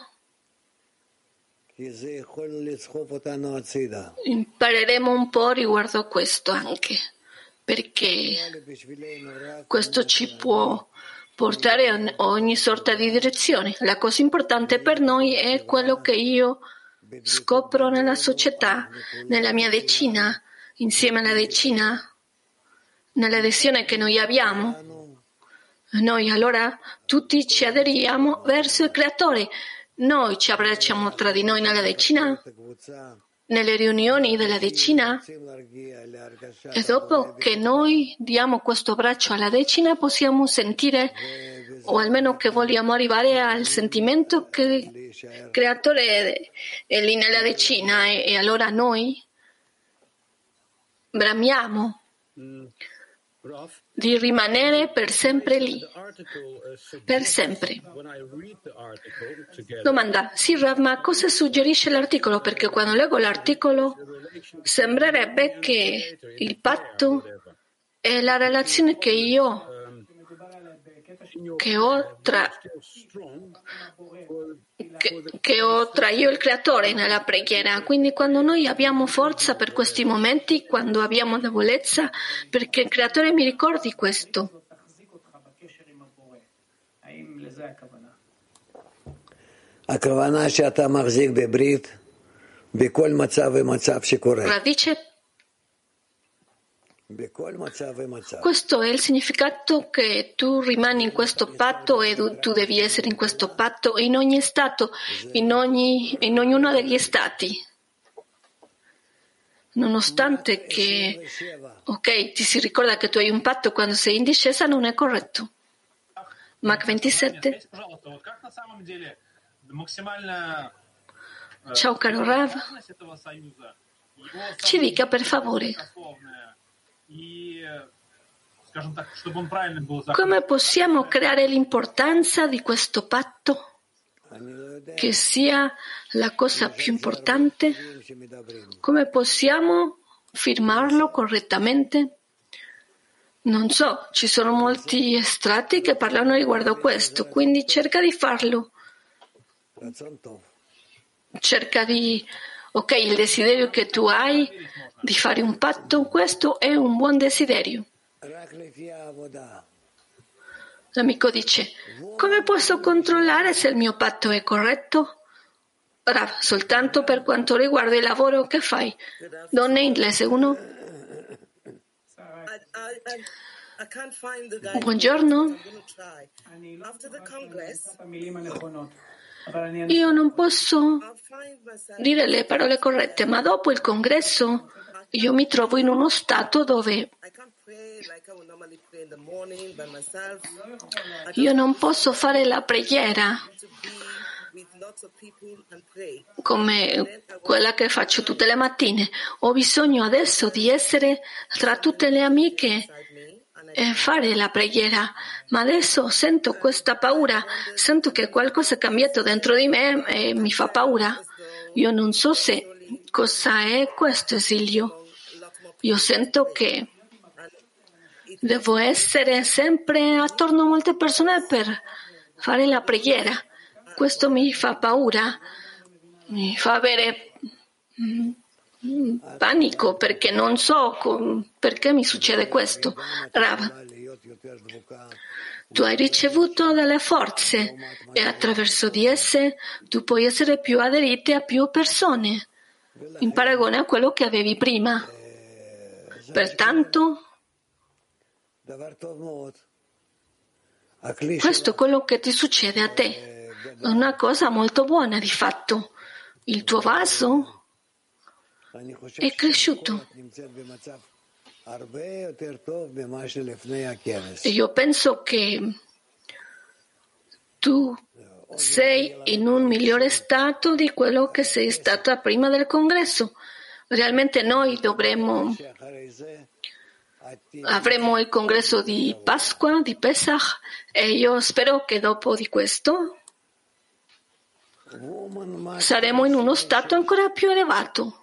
impareremo un po' riguardo a questo anche, perché questo ci può portare in ogni sorta di direzione. La cosa importante per noi è quello che io scopro nella società, nella mia decina, insieme alla decina, nell'adesione che noi abbiamo. Noi allora tutti ci aderiamo verso il creatore. Noi ci abbracciamo tra di noi nella decina, nelle riunioni della decina, e dopo che noi diamo questo abbraccio alla decina possiamo sentire, o almeno che vogliamo arrivare al sentimento che il creatore è lì nella decina, e allora noi bramiamo di rimanere per sempre lì, per sempre. Domanda, sì Rav, ma cosa suggerisce l'articolo? Perché quando leggo l'articolo sembrerebbe che il patto è la relazione che ho tra io e il creatore nella preghiera. Quindi quando noi abbiamo forza per questi momenti, quando abbiamo debolezza, perché il creatore mi ricordi questo. Radice. Questo è il significato che tu rimani in questo patto e tu devi essere in questo patto in ogni stato, in ognuno degli stati. nonostante che, ok, ti si ricorda che tu hai un patto quando sei in discesa, non è corretto. Mach 27. Ciao caro Rav, ci dica per favore come possiamo creare l'importanza di questo patto, che sia la cosa più importante, come possiamo firmarlo correttamente. Non so, ci sono molti estratti che parlano riguardo a questo, quindi cerca di farlo. Cerca di, ok, il desiderio che tu hai di fare un patto, questo è un buon desiderio. L'amico dice, come posso controllare se il mio patto è corretto? Rav, soltanto per quanto riguarda il lavoro che fai. Donna inglese 1. Buongiorno. Io non posso dire le parole corrette, ma dopo il congresso io mi trovo in uno stato dove io non posso fare la preghiera come quella che faccio tutte le mattine. Ho bisogno adesso di essere tra tutte le amiche e fare la preghiera, ma adesso sento questa paura, sento che qualcosa è cambiato dentro di me e mi fa paura. Io non so se cosa è questo esilio. Io sento che devo essere sempre attorno a molte persone per fare la preghiera. Questo mi fa paura, mi fa avere panico perché non so perché mi succede questo. Rav, tu hai ricevuto delle forze e attraverso di esse tu puoi essere più aderite a più persone in paragone a quello che avevi prima. Pertanto, questo è quello che ti succede a te. È una cosa molto buona di fatto. Il tuo vaso è cresciuto. E io penso che tu sei in un migliore stato di quello che sei stata prima del congresso. Realmente noi avremo il congresso di Pasqua, di Pesach, e io spero che dopo di questo saremo in uno stato ancora più elevato.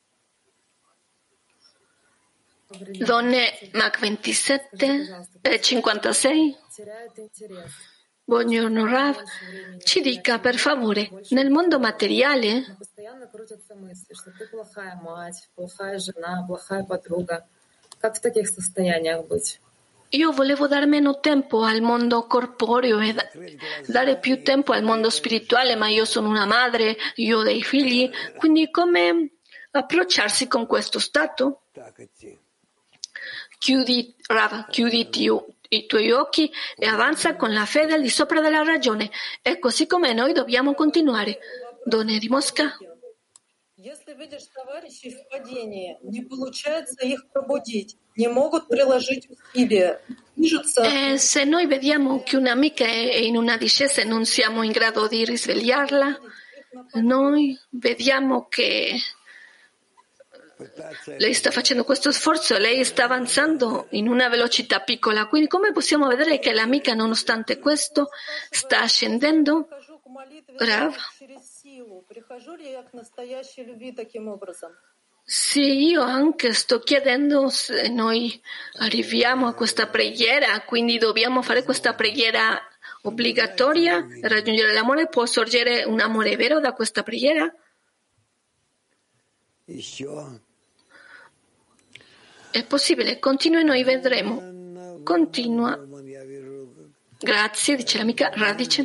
Donne Mach 27 e 56. Buongiorno Rav, ci dica per favore, nel mondo materiale io volevo dare meno tempo al mondo corporeo e dare più tempo al mondo spirituale, ma io sono una madre, io ho dei figli, quindi come approcciarsi con questo stato? Chiudi, Rav, i tuoi occhi e avanza con la fede al di sopra della ragione. È così come noi dobbiamo continuare. Donne di Mosca. Se noi vediamo che un'amica è in una discesa e non siamo in grado di risvegliarla, noi vediamo che lei sta facendo questo sforzo, lei sta avanzando in una velocità piccola, quindi come possiamo vedere che l'amica nonostante questo sta scendendo? Rav? Sì, io anche sto chiedendo se noi arriviamo a questa preghiera, quindi dobbiamo fare questa preghiera obbligatoria, raggiungere l'amore, può sorgere un amore vero da questa preghiera? È possibile, continua e noi vedremo. Continua. Grazie, dice l'amica Radice.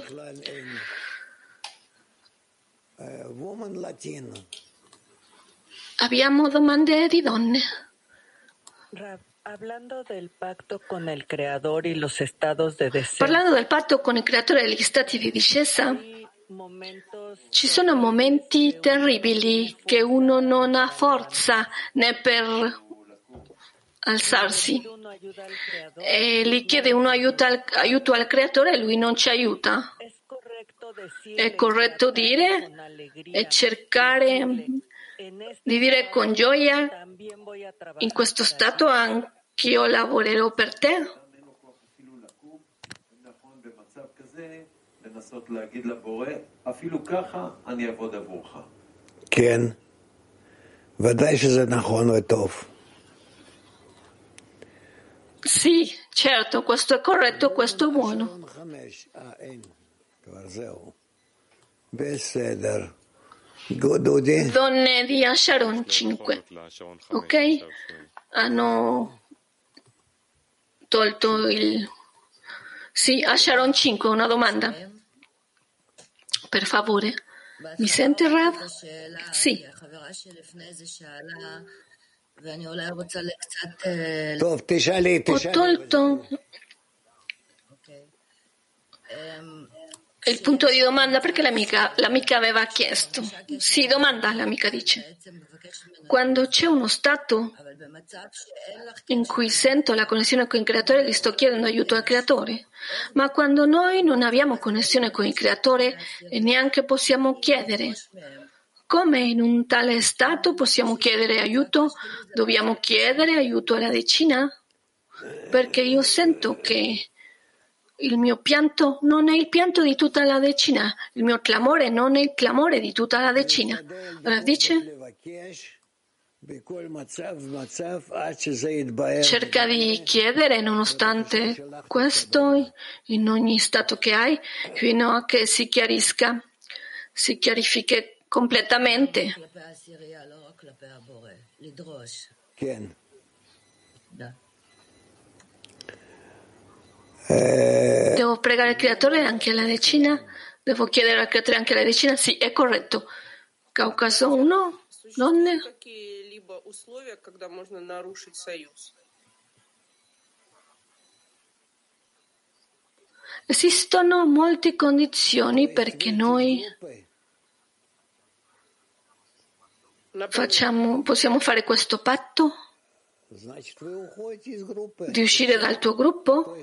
Abbiamo domande di donne. Parlando del patto con il creatore e gli stati di discesa. Parlando del patto con il creatore e gli stati di discesa. Ci sono momenti terribili che uno non ha forza né per alzarsi e gli chiede uno aiuto al Creatore e lui non ci aiuta. È corretto dire e cercare di dire con gioia: in questo stato anch'io lavorerò per te? כן, ודאי שזה נכון וטוב. Sì, certo, questo è corretto, questo è buono. Donne di Asharon 5, ok? Hanno tolto il... Sì, Asharon 5, una domanda. Per favore. Mi sente Rav? Sì. Ho tolto il punto di domanda perché l'amica aveva chiesto. Sì, domanda, l'amica dice. Quando c'è uno stato in cui sento la connessione con il Creatore, gli sto chiedendo aiuto al Creatore. Ma quando noi non abbiamo connessione con il Creatore e neanche possiamo chiedere, come in un tale stato possiamo chiedere aiuto? Dobbiamo chiedere aiuto alla decina? Perché io sento che il mio pianto non è il pianto di tutta la decina, il mio clamore non è il clamore di tutta la decina. Rav dice: cerca di chiedere nonostante questo in ogni stato che hai fino a che si chiarifichi completamente. Devo pregare il Creatore anche alla decina? Devo chiedere al Creatore anche alla decina? Sì, è corretto. Caucaso 1, donne. Esistono molte condizioni perché noi possiamo fare questo patto di uscire dal tuo gruppo?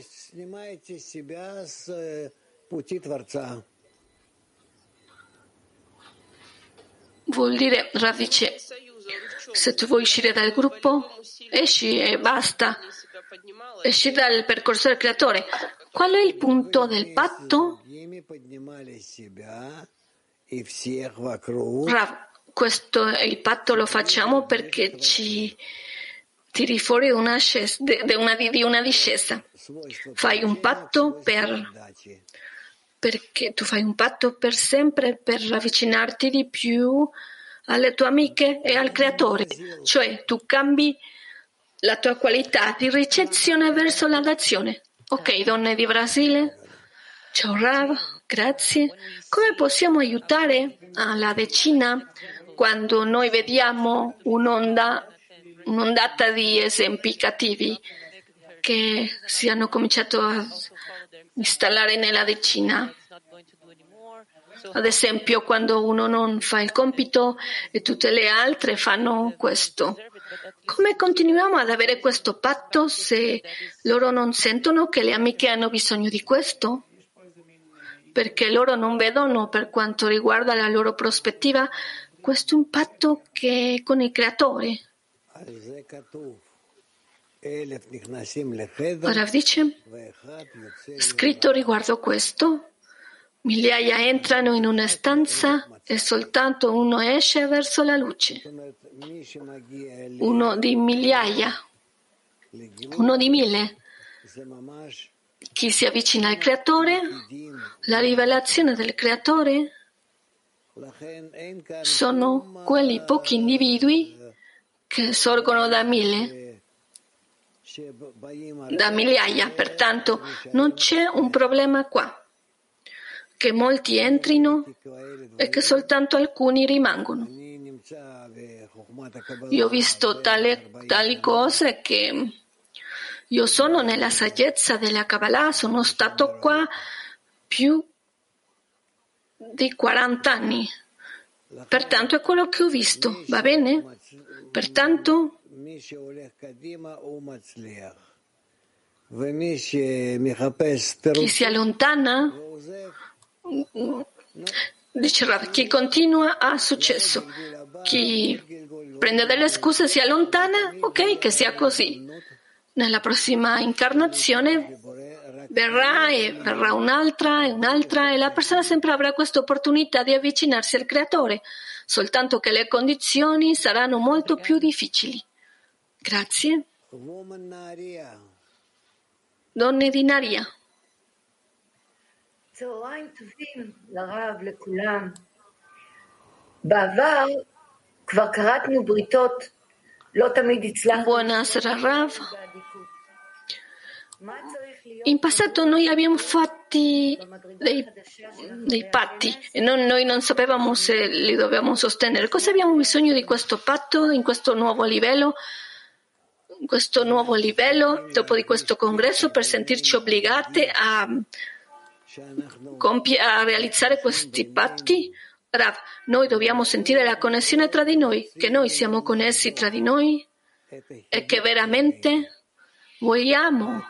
Vuol dire, Rav dice, se tu vuoi uscire dal gruppo, esci e basta. Esci dal percorso del Creatore. Qual è il punto del patto? Rav, questo è il patto, lo facciamo perché ci tiri fuori di una discesa. Fai un patto perché tu fai un patto per sempre per avvicinarti di più alle tue amiche e al Creatore. Cioè, tu cambi la tua qualità di ricezione verso la dazione. Ok, donne di Brasile. Ciao Rav, grazie. Come possiamo aiutare alla decina quando noi vediamo un'ondata di esempi cattivi che si hanno cominciato a installare nella decina? Ad esempio, quando uno non fa il compito e tutte le altre fanno questo. Come continuiamo ad avere questo patto se loro non sentono che le amiche hanno bisogno di questo? Perché loro non vedono, per quanto riguarda la loro prospettiva, questo impatto che è con il Creatore. Rav dice, scritto riguardo questo, migliaia entrano in una stanza e soltanto uno esce verso la luce. Uno di migliaia, uno di 1000. Chi si avvicina al Creatore, la rivelazione del Creatore, sono quelli pochi individui che sorgono da 1000, da migliaia. Pertanto non c'è un problema qua, che molti entrino e che soltanto alcuni rimangono. Io ho visto tali cose che io sono nella saggezza della Kabbalah, sono stato qua più di 40 anni. Pertanto è quello che ho visto, va bene? Pertanto chi si allontana, dice Rav, chi continua ha successo. Chi prende delle scuse si allontana, ok, che sia così. Nella prossima incarnazione verrà un'altra e la persona sempre avrà questa opportunità di avvicinarsi al Creatore, soltanto che le condizioni saranno molto più difficili. Grazie. Donne di Naria. צהריים טובים לרב, לכולם. בעבר כבר קראתנו בריתות, לא תמיד הצלחנו. Buonasera Rav. In passato noi abbiamo fatto dei patti e noi non sapevamo se li dovevamo sostenere. Cosa abbiamo bisogno di questo patto in questo nuovo livello? In questo nuovo livello, dopo di questo congresso, per sentirci obbligate a realizzare questi patti? Rav, noi dobbiamo sentire la connessione tra di noi, che noi siamo connessi tra di noi e che veramente vogliamo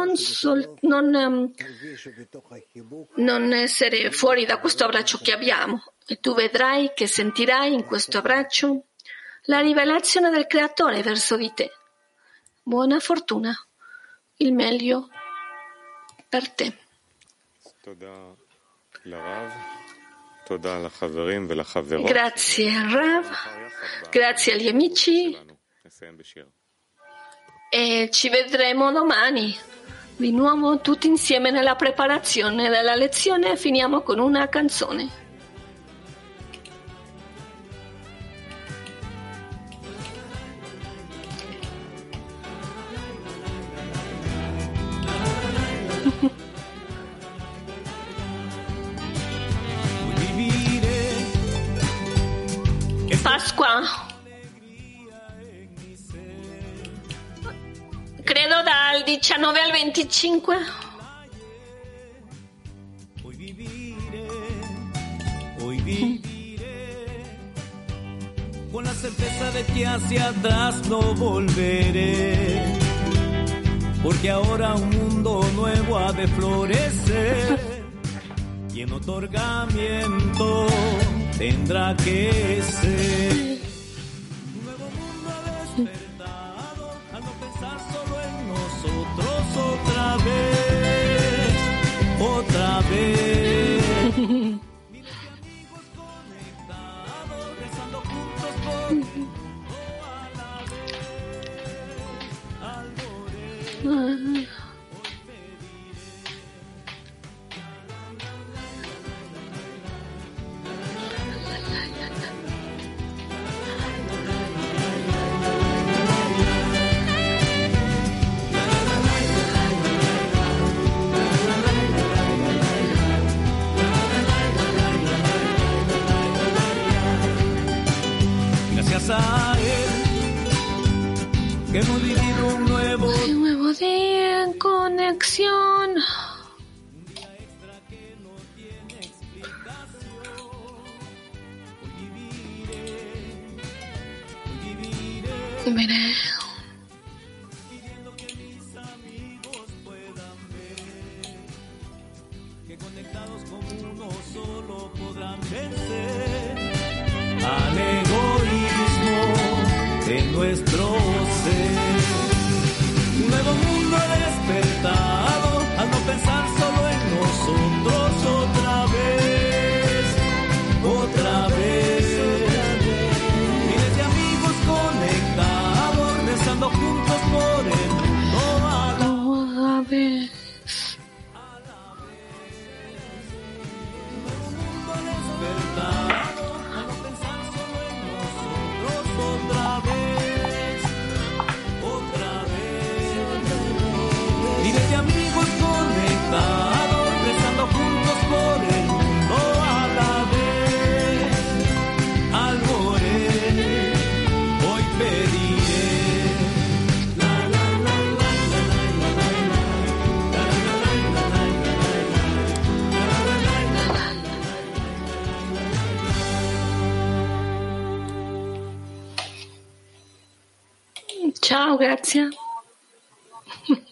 non essere fuori da questo abbraccio che abbiamo. E tu vedrai che sentirai in questo abbraccio la rivelazione del Creatore verso di te. Buona fortuna, il meglio per te. Grazie Rav, grazie agli amici e ci vedremo domani di nuovo tutti insieme nella preparazione della lezione. Finiamo con una canzone. Pasqua, credo dal 19 al 25. Con la certeza de que hacia atrás no volveré, porque ahora un mundo nuevo ha de florecer y en otorgamiento tendrá que ser un nuevo mundo despertado al no pensar solo en nosotros otra vez. Miles de amigos conectados, rezando juntos por al morir. A él, que hemos vivido un nuevo día en conexión. Un día extra que no tiene explicación. Hoy viviré pidiendo que mis amigos puedan ver que conectados como uno solo podrán vencer al egoísmo de nuestro ser. Un nuevo mundo despertado al no pensar solo en nosotros otra vez. Miles de amigos conectados, rezando juntos por el mundo a la vez. Un nuevo mundo despertado al no pensar solo en nosotros otra vez. Miles de amigos Ciao, grazie.